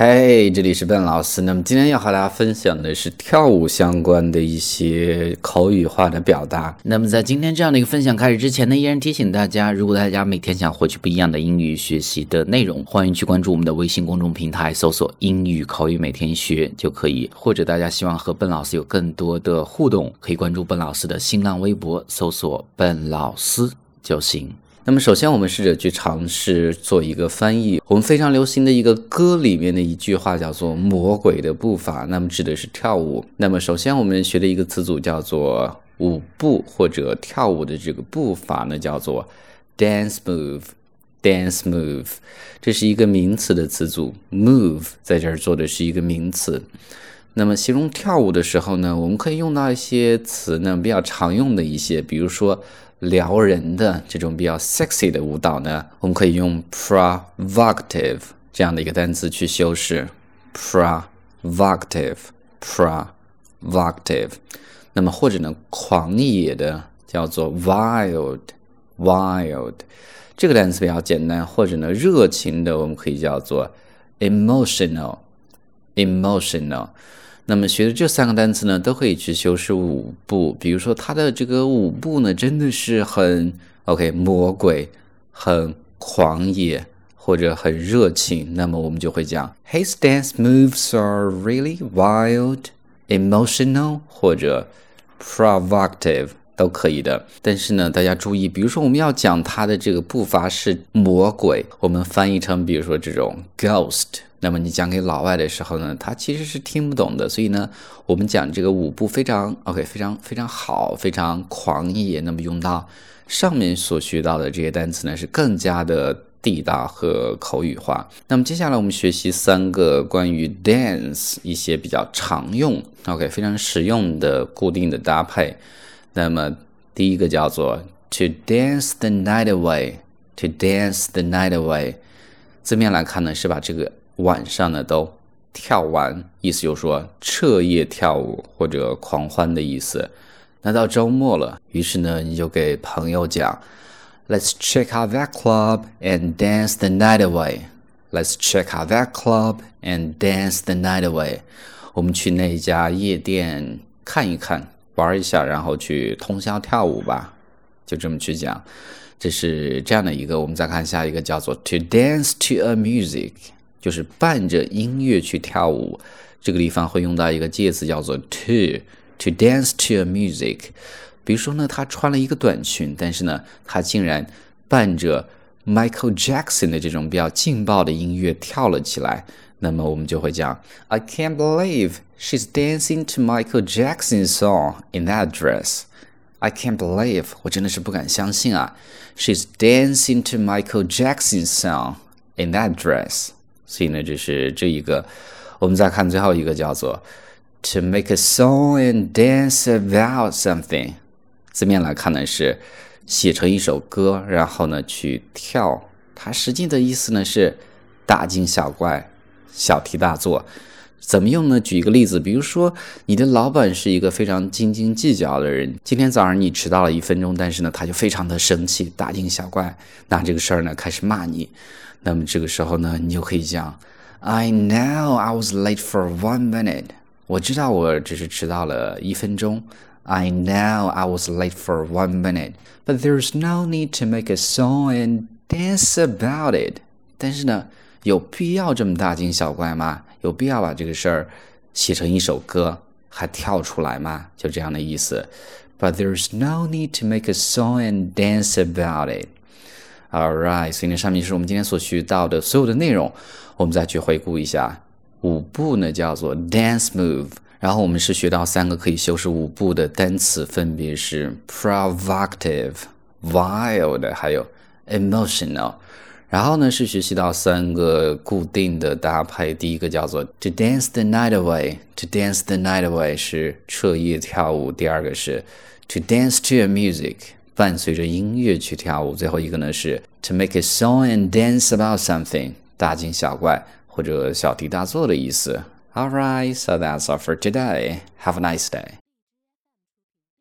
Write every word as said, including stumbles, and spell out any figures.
嘿、hey, 这里是笨老师。那么今天要和大家分享的是跳舞相关的一些口语化的表达。那么在今天这样的一个分享开始之前呢，依然提醒大家，如果大家每天想获取不一样的英语学习的内容，欢迎去关注我们的微信公众平台，搜索英语口语每天学就可以。或者大家希望和笨老师有更多的互动，可以关注笨老师的新浪微博，搜索笨老师就行。那么首先我们试着去尝试做一个翻译。我们非常流行的一个歌里面的一句话叫做魔鬼的步伐，那么指的是跳舞。那么首先我们学的一个词组叫做舞步，或者跳舞的这个步伐呢叫做 dance move dance move， 这是一个名词的词组， move 在这儿做的是一个名词。那么形容跳舞的时候呢，我们可以用到一些词呢，比较常用的一些，比如说撩人的这种比较 sexy 的舞蹈呢，我们可以用 provocative 这样的一个单词去修饰 provocative provocative。 那么或者呢狂野的叫做 wild wild， 这个单词比较简单。或者呢热情的我们可以叫做 emotional emotional。那么学的这三个单词呢，都可以去修饰舞步。比如说它的这个舞步呢，真的是很 OK 魔鬼，很狂野，或者很热情，那么我们就会讲 His dance moves are really wild, emotional 或者 provocative 都可以的。但是呢大家注意，比如说我们要讲它的这个步伐是魔鬼，我们翻译成比如说这种 ghost，那么你讲给老外的时候呢，他其实是听不懂的。所以呢我们讲这个舞步非常 OK 非常非常好，非常狂野，那么用到上面所学到的这些单词呢是更加的地道和口语化。那么接下来我们学习三个关于 dance 一些比较常用 OK 非常实用的固定的搭配。那么第一个叫做 to dance the night away to dance the night away， 字面来看呢是把这个晚上呢都跳完，意思就是说彻夜跳舞或者狂欢的意思。那到周末了，于是呢你就给朋友讲 Let's check out that club and dance the night away Let's check out that club and dance the night away， 我们去那家夜店看一看，玩一下，然后去通宵跳舞吧，就这么去讲。这是这样的一个。我们再看下一个叫做 to dance to a music，就是伴着音乐去跳舞。这个地方会用到一个介词叫做 to to dance to a music。 比如说呢他穿了一个短裙，但是呢他竟然伴着 Michael Jackson 的这种比较劲爆的音乐跳了起来，那么我们就会讲 I can't believe she's dancing to Michael Jackson's song in that dress。 I can't believe 我真的是不敢相信啊 She's dancing to Michael Jackson's song in that dress。所以呢这是这一个。我们再看最后一个叫做 to make a song and dance about something， 字面来看呢是写成一首歌，然后呢去跳，它实际的意思呢是大惊小怪，小题大做。怎么用呢？举一个例子，比如说你的老板是一个非常斤斤计较的人，今天早上你迟到了一分钟，但是呢他就非常的生气，大惊小怪，拿这个事儿呢开始骂你。那么这个时候呢你就可以讲 I know I was late for one minute， 我知道我只是迟到了一分钟。 I know I was late for one minute But there's no need to make a song and dance about it。 但是呢有必要这么大惊小怪吗？有必要把这个事儿写成一首歌还跳出来吗？就这样的意思。 But there's no need to make a song and dance about it。 Alright， 所以呢上面是我们今天所学到的所有的内容。我们再去回顾一下。舞步呢叫做 dance move， 然后我们是学到三个可以修饰舞步的单词，分别是 provocative wild 还有 emotional。然后呢是学习到三个固定的搭配。第一个叫做 to dance the night away to dance the night away 是彻夜跳舞。第二个是 to dance to a music 伴随着音乐去跳舞。最后一个呢是 to make a song and dance about something 大惊小怪或者小题大做的意思。 Alright, so that's all for today. Have a nice day.